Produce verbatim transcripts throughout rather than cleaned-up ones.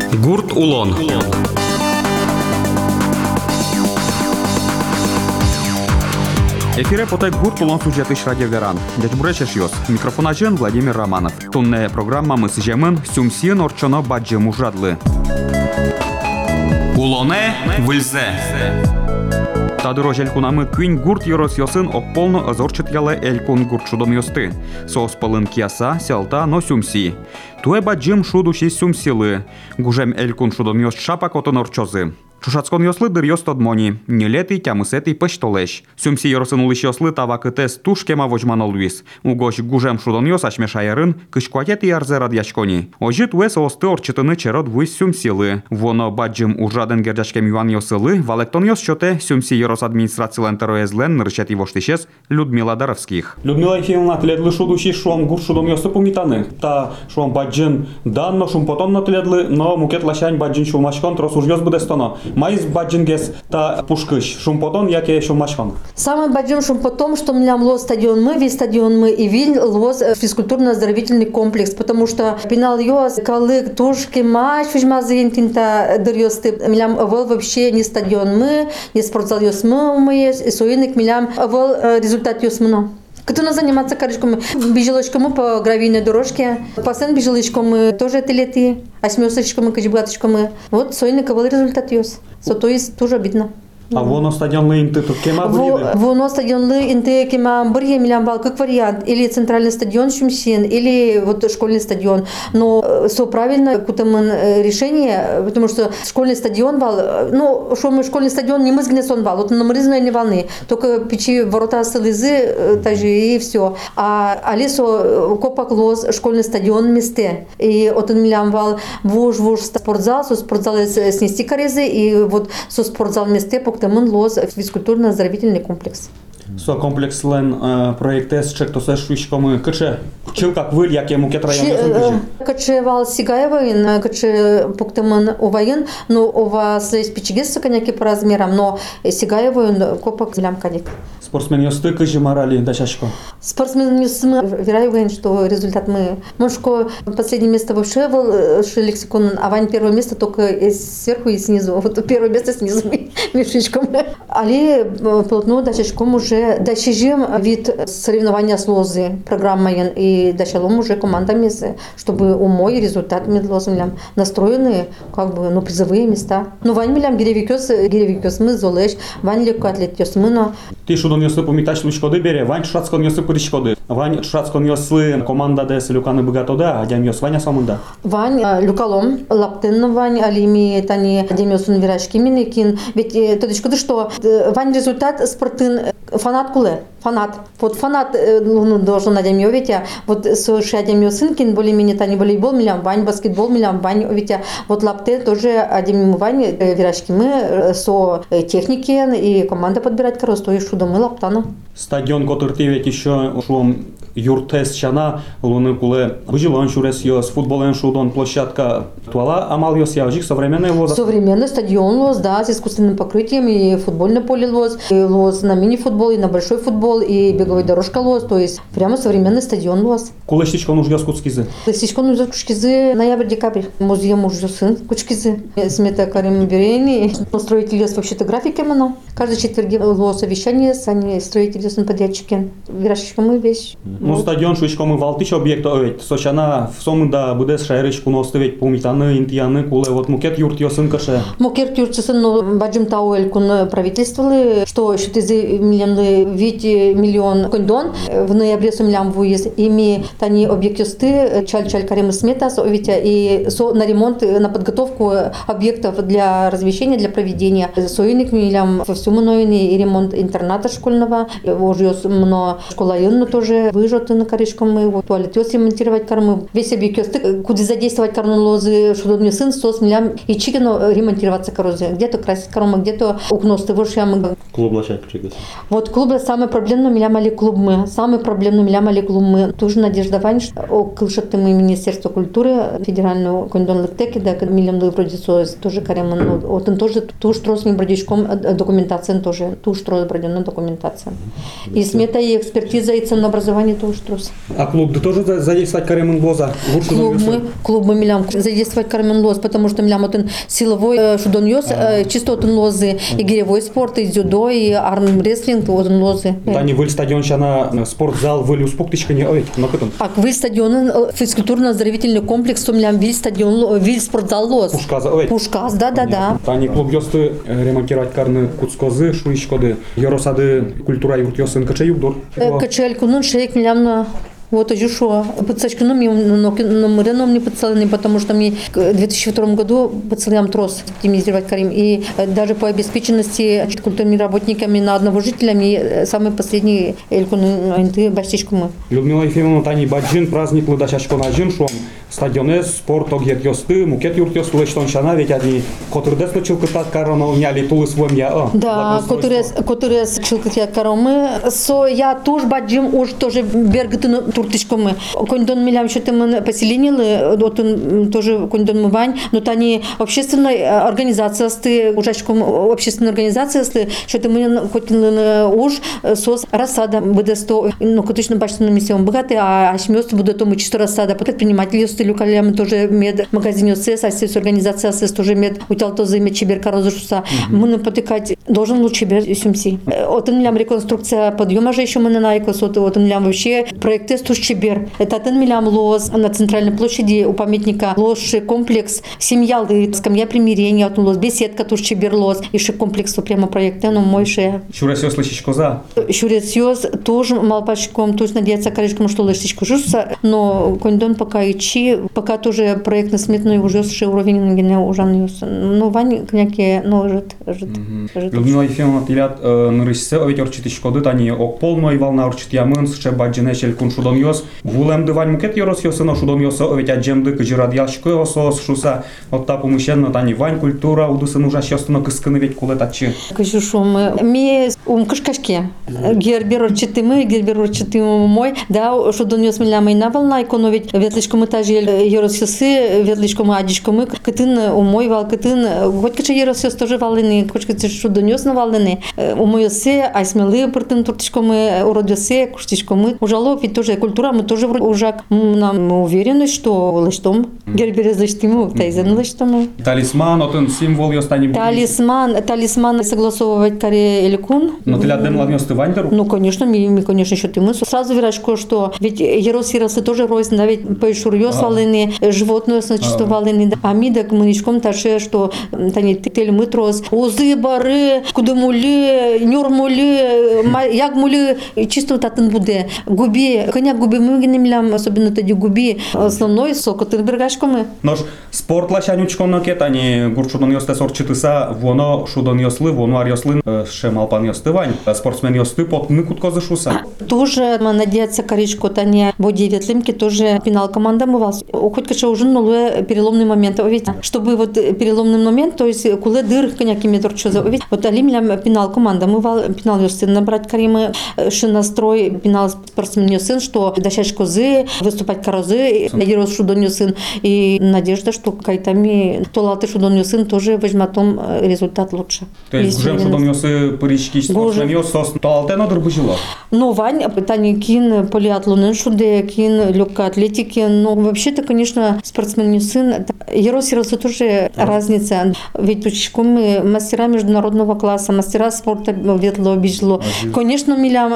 Гурт Улон. Эфире потай Гурт Улон сюжетыш радиоверан. Дядь Буречеш йос. Микрофонажен Владимир Романов. Тунне программа мы сжемын Сюмсин орчоно баджи мужадлы. Улоне выльзе. Тадырож элькунамы күн гурт йорос йосын опполно азорчет яле элькун гурт шудом йосты. Сос пылын кияса, селта но сюмси. Туэ баджим шудуши сюмсилы. Гужем элькун шудом йос шапак отон орчозы. Шушацкон йослы дыр йос тодмони. Нелеты тямысеты пыштолеш. Сюмси йоросын улыш йослы тавакытес тушкема вожман олвис. Угош гужем шудон йос ашмешайырын кышкуатети ярзе радьячкони. Ожи туэ соосты орчытыны черод вуйс сюмсилы. Воно баджим ужаден герджачкем юан йосылы. Валектон йос чоте сюмси йорос администрациялен тероезлен нырчати воштишес Людмила Даровских. Людмила Ефимовна тледлы шудуши шуам гурт шудом йосы пумитаны. Та шуам баджим данно шум потон натледлы, но мукет лашань баджин шумашкон трос уж йос буде стоно. Майс баджингес та пушкыш шумпотон, яке шумашкон. Самый баджим шумпотом, что у меня лос стадион мы, весь стадион мы и виль лос физкультурно-оздоровительный комплекс, потому что пинал йос, калык, тушки, матч, фижмазин, тинта дырьосты, милям вол вообще не стадион мы, не спортзал йос мы умеешь, и суиник милям вол результат йос мно. Кто заниматься корочками, бежелочками по гравийной дорожке, пасен бежелочками тоже это леты, а смесочками, качбаточками. Вот сойниковый результат есть. So, то есть тоже обидно. А воно стадионлы инты тут кема бриды? Воно стадионлы инты кема бриды милям бал как вариант. Или центральный стадион Сюмсин, или вот школьный стадион. Но все правильно, какое-то решение, потому что школьный стадион бал, ну, что мы школьный стадион не мы сгнесон бал, вот на мрызной не волны, только печи ворота слезы, также и все. А Алисо копак лоз школьный стадион месте. И вот он милям бал вуж вуж спортзал, со спортзал снести корезы, и вот со спортзал месте Тамын лоз физкультурно-оздоровительный комплекс. Со комплекс лен проектес чектосе швичкомы кыче чил как выль яке мукет район кыче вал сигаевын кыче пуктамын увайын, но у вас есть пичигесы коняки по размерам, но сигаевын копак лям коник. Спортсмен ёсты кыжи морали дачашко. Спортсмен ёсты вероятно, что результат мы. Мошко последнее место вообще был лексикон, а Вань первое место только сверху и снизу. Вот первое место снизу мешечком. Али полотно дачашком уже дачижим вид соревнования с лозы программой и дачалом уже командами, чтобы умой результат медлозом настроены как бы ну призовые места. Ну Вань милям гиревикёс гиревикёс мы золеш, Вань легкоатлет ёс мы но. Ти шудон ёсы помитач лучкоды бере, Вань шрацкон ёсы пырышкоды. Вань шрацкон ёсы команда дес люканы богатода, а дям ёс Ваня самында. Вань люкалом лаптен Вань алими тани дям ёсын вирашки минекин. Ведь тодышкоды что Вань результат спортын фанат куле, фанат. Вот фанат ну, должен на дем ведь вот с шадем сынкин более-менее тани волейбол милям Вань, баскетбол милям Вань, ведь вот лапте тоже одним Вань вирашки мы со техники и команда подбирать корос, то и шудо мы лаптана. Стадион который ведь еще шлом юртес чана луны куле выжилон шурес ёс футболен шудон площадка туала амал ёс явжик современный лоз. Современный стадион лоз, да, с искусственным покрытием и футбольное поле лоз, и лоз на мини-футбол, и на большой футбол, и беговая дорожка лоз, то есть прямо современный стадион лоз. Куле штичко нуж ёс куцкизы? Штичко нуж ёс куцкизы ноябрь-декабрь. Музей муж ёсын куцкизы. Смета Карим Берени. Строитель ёс вообще-то графики мано. Каждый четверг лоз совещание, они строитель ёсын подрядчики. Вирашечка мы вещь. Ну стадион швичко мы валтич объект овет. Сочана в сомында будес шайрычку ностовет помитаны интияны куле вот мукет юрт ёсын каше. Мукет юрт ёсын но баджим тауэль кун правительствовали, что шутизы миллионы вид миллион кондон в ноябре сумлям вуез ими тани объект ёсты чаль-чаль карем смета совитя и со на ремонт на подготовку объектов для размещения для проведения союник миллям во всему новини и ремонт интерната школьного уже ёс мно школа юнна тоже выжжёт на коричком мы вот туалет ёс ремонтировать кормы весь объект ёсты куда задействовать карну лозы что мне сын сос миллям и чикино ремонтироваться корозы где-то красить кормы где-то укности вот я мы клуб лачать чикас. Вот клуб самый проблемный миллям али клуб мы самый проблемный миллям али клуб мы тоже Надежда Вань о кылшатым Министерство культуры федерального кондон лектеки да миллям до вроде соз тоже карем ну вот он тоже туж трос не бродичком документация тоже туж трос бродённая документация. И смета, и экспертиза, и ценообразование тоже трос. А клуб да тоже за- задействовать Каремен Лоза? Гурт Клуб Шудом мы, Йосы? клуб мы милям задействовать Кармен Лоз, потому что милям это силовой э, шудон йос, э, чистотен лозы, и гиревой спорт, и дзюдо, и армрестлинг, вот он лозы. Тани выль стадион щана спортзал выль успоктичка не овет, но потом. А виль стадион, э, физкультурно-оздоровительный комплекс, то милям виль стадион, ло- виль спортзал лоз. Пушка за овет. Пушкас, да-да-да. Тани клуб Йосты ремонтировать карны куцкозы, шуишкоды, Йоросады культура юрт Йосын кача югдор. Качельку, ну шейк милям на вот уже что, подсачку, ну, мне номереном не подцелены, потому что мне в две тысячи втором году подцелям трос оптимизировать Карим. И даже по обеспеченности культурными работниками на одного жителя мне самый последний элькуны баштичку мы. Людмила Ефимовна, Тани Баджин, праздник Лыдашачко на Джин, шум стадионе, спорт, огет Йосты, мукет юрт Йосты, лечтон щана, ведь они, которые десну чилкатат карано, няли тулы своим я, о. Да, которые, которые чилкатят каромы, со я тоже баджим, уж тоже бергатыны туртичкомы. Кондон милям что-то мы поселенили, вот он тоже кондон мы вань, но тани общественная организация сты, ужачком общественная организация сты, что-то мы хоть уж сос рассада будет сто, ну конечно бачно на миссион богатый, а шмёст будет тому чисто рассада, предприниматели сты люкалям тоже мед магазин сес, а сес организация сес тоже мед утял то за мед чеберка разушуса. Мы на потыкать должен лучше бер сумси. Вот он милям реконструкция подъема же еще мы на найкос, вот он милям вообще проекты Чебер. Это один миллион лоз на центральной площади у памятника лозший комплекс семья лы, скамья примирения, от лоз беседка туш Чебер лоз, еще комплекс прямо проекта, но мой ше. Шуресёс лычичко за. Шуресёс тоже малпачком, то есть надеяться коричком, что лычичко жуса, но кондон пока и чи, пока тоже проект на сметной уже с уровень на гене ужанюс. Ну вань княки, ну жит, жит. Людмила Ефимовна, тилят на рыссе, овет орчитичко тани ок полной волна орчит ямын, ще баджине челькун шудон йос. Вулем дивань мукет йорос йосино шудон йоса овет аджемды кыжирад яшко йосос шуса. От та помещенно тани вань культура удусын ужаш йостыно кыскыны ведь кулетачи. Кажу, що ми, ми ум кашкашки. Гербер орчити ми, гербер орчити мой. Да, що до нього смілями на волна, іконо від ветличкому тажі єросіси, ветличкому адічкому, китин у мой вал, китин, хоч кача єросіс теж валини, хоч кача що до нього навалини. У мой си, а сміли пертин туртичкому, уродоси, куштичкому. Ужало від теж культура, ми теж ужак. Нам уверены, что лиштом. Гербер злиштимо, тайзен лиштому. Талисман, отын символ йостані. Талисман, талисман согласовывать каре элькун. Но тилят дем ладнёс ты ваньтеру? Ну, конечно, ми, ми конечно, еще ты мы. Сразу вирашко, что ведь еросиросы тоже рознь, да, ведь поишурьё свалины, животное значит валины, а ми так мыничком таше, что тани тель мы трос, узы, бары, кудымули, нюрмули, ягмули, чисто вот атын буде. Губи, коня губи мы генемлям, особенно тоді губи, основной сок, от бергашкоми. Нож спорт лашанючко накет, ані гурт шудон йосте сорчитиса, воно шудон йосли, воно ар йослин, ще малпан йостивань, спортсмен йости, пот никутко зашуса. Тоже надеяться коричко, тани боди ветлимки, тоже финал команда мывалась. Хоть каже уже нуле переломный момент, ведь чтобы вот переломный момент, то есть куле дыр коняки метр чоза, ведь вот алимлям финал команда мывал, финал йостин набрать каримы, ши настрой, финал спортсмен йостин, что дощать козы, выступать корозы, Ерос шудон йостин, и надежда, что кайтами толаты шудон йостин тоже возьмет том результат лучше. То есть гужем шудон йосы парички спортсмен йосос, толалте надр быжило. Ну, Вань, питание кин, полиатлон, шуде, кин, легкой атлетики, но вообще-то, конечно, спортсмен не сын. Ерос, Ерос, тоже да. Разница. Ведь мы мастера международного класса, мастера спорта ветло, бежло. Конечно, милям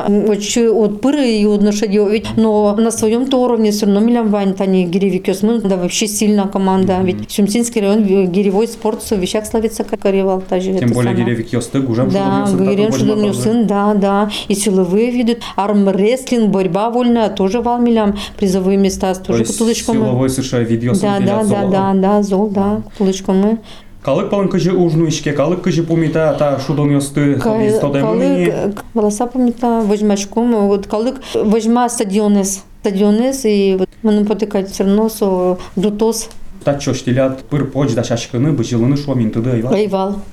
от пыры и от лошади, но на своем-то уровне все равно милям Вань, Тани Гиревикёс, мы, да, вообще сильная команда. Mm-hmm. Ведь Сюмсинский район, гиревой спорт, в вещах славится, как Каревал. Тем более Гиревикёс, ты гужем да, шудон сын, да, да. И силовые виды, армрестлинг, борьба вольная, тоже валмилям, призовые места, тоже кутулочком. Силовой США видео да, да, да, да, да, зол, да, кутулочком мы. Калык палын кыжы ужну ишке, калык кыжы помита, та шудон йосты, калык, волоса помита, возьмачком, вот калык, возьма стадионес, стадионес, и вот мы потыкать все равно со дутос. Та чё штилят, пыр поч да шашканы, быжилыны шуамин тыды айвал. Айвал.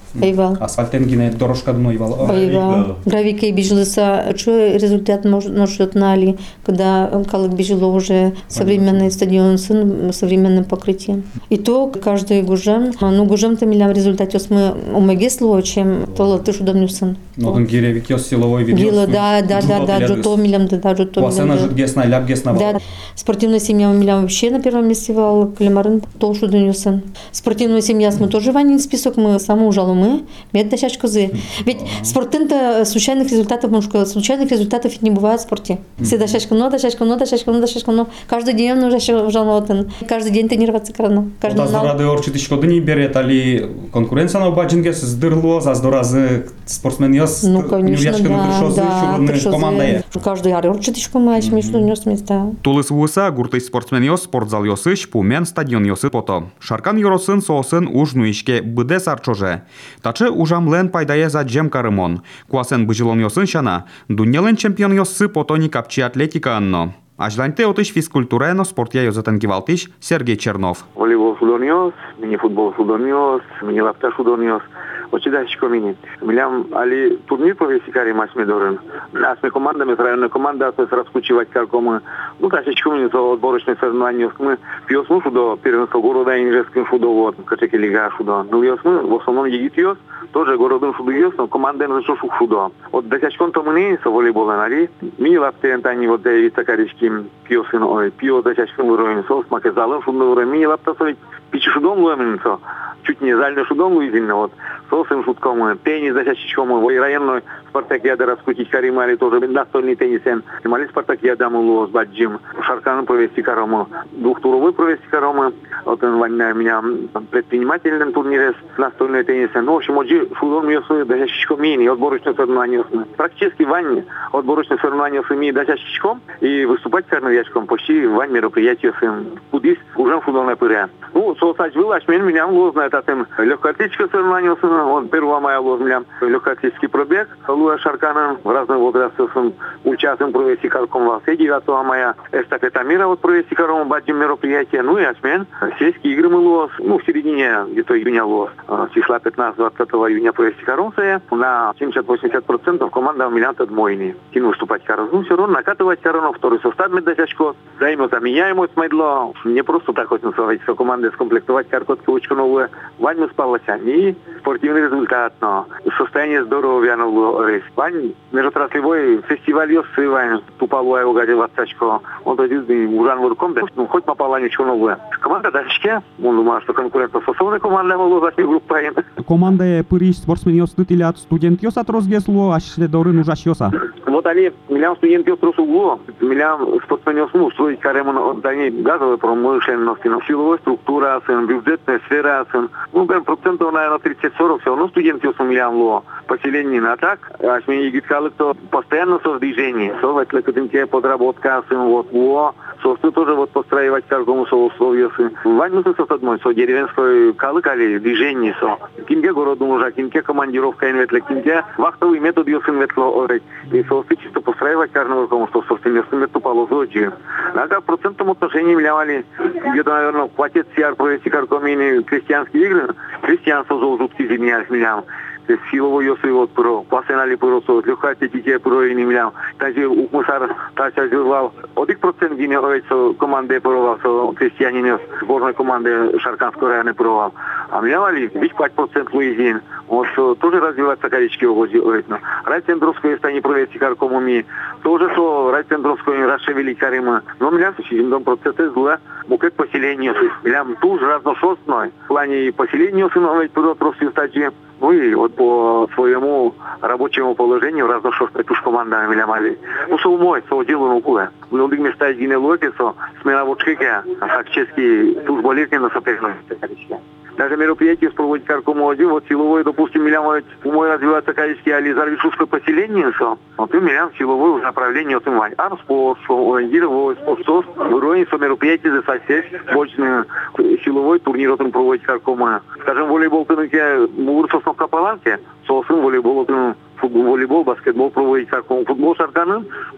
Айвал. Асфальтен гине дорожка дно Айвал. Айвал. Гравикой бежелся. Что результат может нали, когда Калык бежело уже современный стадион с современным покрытием. И то каждый гужем, ну гужем-то милям в результате мы умегесло, чем то ты что донюсэн. Ну он гиревик ёс силовой видео. Гила, да, да, да, да, джуто милям, да, да, джуто милям. Классена жут гесна, ляп гесна. Да, спортивная семья милям вообще на первом месте вал, Калимарын то что донюсэн. Спортивная семья мы тоже ванин список, мы саму ужалу мы, мед дощач козы. Ведь спортин-то случайных результатов, может, случайных результатов не бывает в спорте. Все дощачка, но дощачка, но дощачка, но дощачка, но каждый день нужно ужалу, каждый день тренироваться крано. Каждый день. Ради орчити шкоды не берет, али конкуренция на баджинге сдырло, за здоразы спортсмен ёс. Ну, конечно, да, да, команда. Каждый ар орчити шкомач, между нёс места. Тулыс вуса гуртый спортсмен ёс спортзал ёсыш, пумен стадион ёсы пото. Шаркан юросын соосын уж нуишке быде сарчоже. Тачы ужамлен пайдае за джем карымон. Куасен быжилон ёсын шана, дуньялен чемпион ёсы пото ни капчи атлетика анно. Ажланте отыш физкультурено спортя ёзатен гивалтиш Сергей Чернов. Волейбол судонёс, мини-футбол судонёс, мини-лапта судонёс. Очидачко мини. Милям али турнир провести масме дорен. Асме командами, районная команда, асме раскучивать каркомы. Ну, тащичко мини, то отборочные соревнования. Мы пьёсму шудо, первенство города и нижеским шудо, вот, качеки лига шудо. Ну, ёсмы, в основном егит ёс, тоже городом шудо ёс, но команда на шо шук шудо. Вот тащичкон то мы со волейбола нари. Мини-лапте, они вот и такарички пьёсын, ой, пьё тащичком уровень сос, макезалом шудо уровень. Мини-лапта совет пичи шудом луэминцо. Чуть не зальный шудом луизин, вот. Сосым шутком, теннис защищиком, вой районной спартакиада раскрутить каримали тоже настольный теннисен. Мали спартакиада мулу с баджим. Шарканом провести карому, двухтуровой провести карому. Вот он ванна меня предпринимательным турнире с настольный теннисен. Ну, в общем, оджи шудом ёсу защищиком мини, отборочное соревнование. Практически ванне отборочное соревнование с ими защищиком и выступать карновячком почти вань мероприятие с им. Кудис уже футбольная пыря. Ну, соцать вылазь, меня было знает от им легкоатлетическое соревнование. Он первого мая лозмлям легкоатлетический пробег. Луя Шарканом в разных возрастах участвуем провести карком в Алсе. девятого мая эстафета мира вот провести карком баджим мероприятие. Ну и осмен. Сельские игры мы лоз. Ну, в середине где-то июня лоз. Числа пятнадцатого-двадцатого июня провести карком. На семьдесят-восемьдесят процентов команда у меня отмойни. Кину выступать карком. Ну, все равно накатывать карком. Второй состав меддачко. Займется меняемо смайдло. Не просто так хоть называть, что команды скомплектовать каркотку учку новую. Ваню спалась. И спортивный результат, но состояние здоровья, ну, Вань, межотраслевой фестиваль ёссы, Вань, тупалуя угадил отцачко. Он дойдет ужан вырком, ну, хоть попала ничего новое. Команда дальше, он думал, что конкурентоспособная команда была за группа. Команда пыриш спортсмен ёстыт или от студент ёс отрозгесло, аж дорын ужаш ёса. Вот они, милям студент ёс трусугло, милям спортсмен ёс, ну, строить карему отдание газовой промышленности, силовой структура, бюджетная сфера, ну, прям процентов, наверное, тридцать-сорок, все равно студент ёс милям ло. Поселение на так, а мне егит калык, то постоянно со в движении, со в этой подработка, вот, во, собственно, тоже вот постраивать какому со условию, ваньмусы со одной, со деревенской калык, али движение, со, кинге городу уже, кинге командировка инветле, кинге вахтовый метод ёс инветло, и со чисто постраивать каждому какому, что собственно, ёс инветло полозочи. А как в процентном отношении милявали, где-то, наверное, хватит сиар провести каркомини крестьянские игры, крестьянство золотки зимнях милям. Силовой ёсы вот про, пасенали про со, легкоатлетики про и не милям. Даже укмусар тача жевал. Один процент гине овец команды провал, со крестьянин сборной команды Шарканского района провал. А милявали ведь пять процентов Луизин. Вот тоже развиваться колички угодил. Райцентровское стане провести каркомуми. Тоже со райцентровское расшевели карима. Но милям дом процессы зла. Букет поселения. Милям тоже разношерстной. В плане поселения сыновей просто стадии. Ну и вот по своему рабочему положению разношерстной туш команда милямали. Ну, со умой, со делу нукула. В многих местах гине локи, со смена вочкеке, фактически туш болезни на соперности. Даже мероприятие проводить каркому один, вот силовой, допустим, милям умой развиваться количество, али зарвишуское поселение, со. Вот и милям силовой уже направление от имани. А спорт, ориентировой спорт, со, вроде со мероприятие за сосед, больше силовой турнир от им проводить каркома. Скажем, волейбол тынуке, мур со Капаланке, сосын волейбол, футбол, волейбол, баскетбол проводить карком, футбол Шарканым, вот Шаркан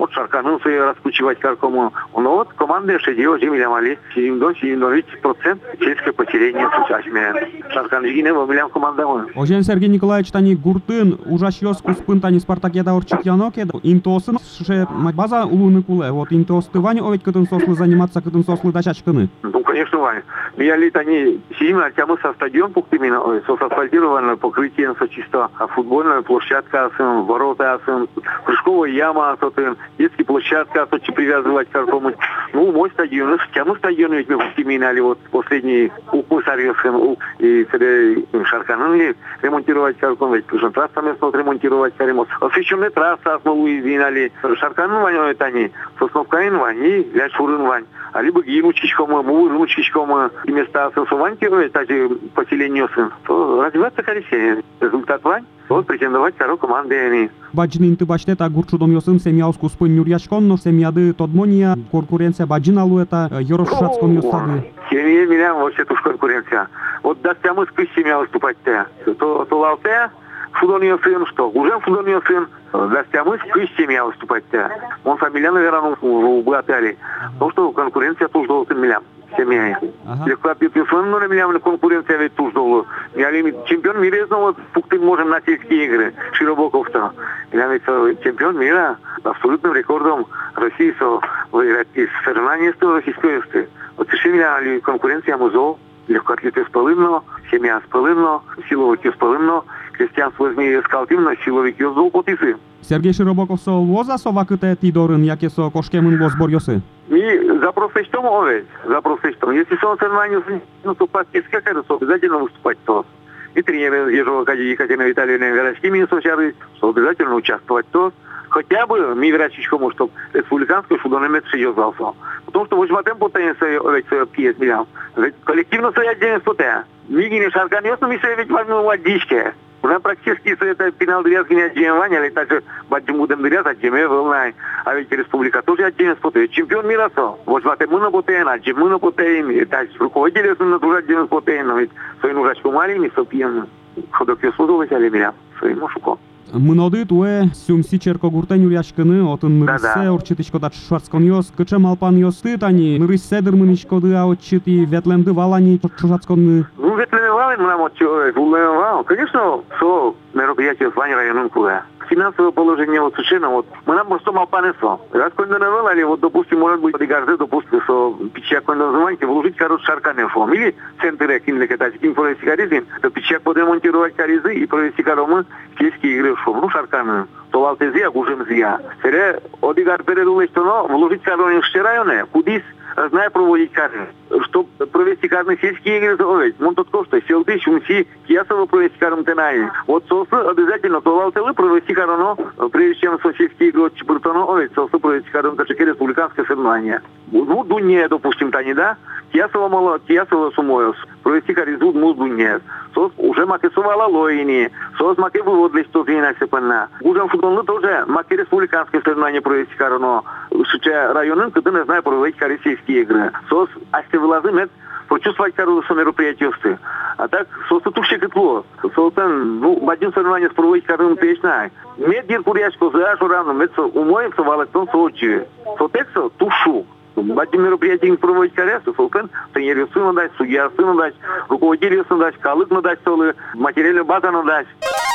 Шарканын свои раскручивать каркому. Но вот команда шедио жемилям али. Сидимдон, сидимдон, ведь процент чешское потерение сучашме. Шаркан жигине вомилям команда мой. Ожен Сергей Николаевич тани гуртын ужашьёс куспын тани Спартакиада орчитьяноке. Интосын ше база улуны куле. Вот интосты Вань оведь кытын сослы заниматься кытын сослы дачачкыны. Ну, конечно, Вань. Я лет они сидим, а тему со стадион пуктимина, со асфальтированное покрытие, со чисто футбольная площадка, ворота, прыжковая яма, детская площадка, то привязывать к какому. Ну, мой стадион, тему стадион ведь мы пуктимина, вот последний укус арьевским, и когда Шарканын ремонтировать какому, ведь уже трасса местно ремонтировать ремонт. Освещенная трасса, основу извинали. Шарканын Вань, это они, Сосновкаин Вань, и Ляшурын Вань. А либо гимучичкому, муручичкому, и места сувантировать, также поселению сын, то развиваться корректнее. Результат Вань, вот претендовать второй командой. Баджин ты баштета гурчудом ёсын семьяуску спын юрьяшкон, но семьяды тодмония, конкуренция баджин алуэта, ёрошшацкон ёсады. Семья меня вообще туж конкуренция. Вот даст мы с семья выступать-то. То, то лалте, футбольный сын, что? Уже футбольный сын. Даст мы с семья выступать-то. Он фамилия, наверное, в Буатали. Потому что конкуренция туж должен миллиам. Семья. Легко пятьсот на миллиам конкуренция ведь туж должен. Я чемпион мира снова пуктым можем на сельские игры. Широбоков-то. Я ведь чемпион мира абсолютным рекордом России выиграть из соревнований с российской исты. Вот решили конкуренция музол. Легкоатлеты спалинно, семья спалинно, силовики спалинно, крестьянство возьми скалтимно, силовики золотисы. Сергей Широбоков со воза совакыте тидорын, яке со кошкемын воз борьёсы. И запрос что овец, запрос что. Если сон соревнований, ну то паски скакать, то обязательно выступать то. И тренеры Ежова Екатерина Витальевна Верочкими Сочары, что обязательно участвовать то. Хотя бы ми врачичкому, чтобы республиканский футбольный мет съездался. Потому что в этом потенции овец пьет миллион. Ведь коллективно своя отдельность потенция. Миги не шарканёс, но ми се ведь возьмем водички. Уже практически это пенал дырязки не отдельнования, или также бадим будем дыряз отдельно волнай. А ведь республика тоже отдельность потенция. Чемпион мира со. Вот в этом мы на потенция, отдельно мы на потенция. Так руководители на тоже отдельность потенция. Ведь своим врачку маленький, сопьем. Ходок я судовый, але меня своему шуко. Мыноды туэ сюмси черко гуртен юрьяшкыны, отын нырыссе орчитичко дат шварцкон ёс, кыче малпан ёсты тани, нырыссе дырмыничкоды а отчити, ветленды валани чужацконны. Ну, ветленды валани мы нам отчёвать, вулэн вал. Конечно, со мероприятие в Ване районном куле. Финансовое положение вот совершенно вот. Мы нам просто малпанесло. Раз когда навелали, вот, допустим, может быть, подигарзе, допустим, что пичак когда называете, вложить, короче, шарканефом. Или центры кинули катать, кин провести каризм, то пичак подремонтировать каризы и провести коромы сельские игры в шум. Ну, шарканы. То лалтезия, гужемзия. Сере, одигар передулы, что, но, вложить коромы в районе, кудис, знаю проводить карты. Чтобы провести карты сельские игры, то ведь, мон тот кошто, селты, шумси, киясово провести карты тенай. Вот сосы обязательно то лалтелы провести кароно, прежде чем сельские игры от Чебуртоно, ведь сосы провести карты качеки республиканское соревнование. Ну, дуне, допустим, тани, да? Киясово мало, киясово сумоёс. Провести каризу, ну, дуне. Сос уже макесувала лоини. Сос маке выводли, что зина сепана. Гужем футболны тоже маке республиканское соревнование провести кароно. Шуча районын, когда не знаю, проводить карисейские игры. Сос, а если вылазы, нет, прочувствовать кару со мероприятиевствы. А так, сос тут все кетло. Сос, ну, один соревнование с проводить кару печная. Мед дир курячку, за жураном, мед умоется, валатон сочи. Сотексо, тушу. Один мероприятие проводить каресу, солкен, тренеру сыну дать, судья сыну дать, руководителю сыну дать, калык надать, солы, материальную базу надать.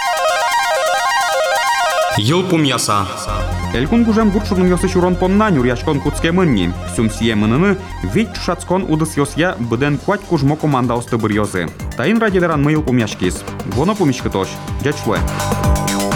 Йылпум яса. Элькун гужем гурчудын ёсы чурон понна нюрьяшкон куцке мынни. Сюмсие мыныны ведь шацкон удыс ёсья быден куать кужмо команда осты бір ёзы. Тайын радиолеран мы йылпум яшкис. Воно пумичкы тош. Дячлы.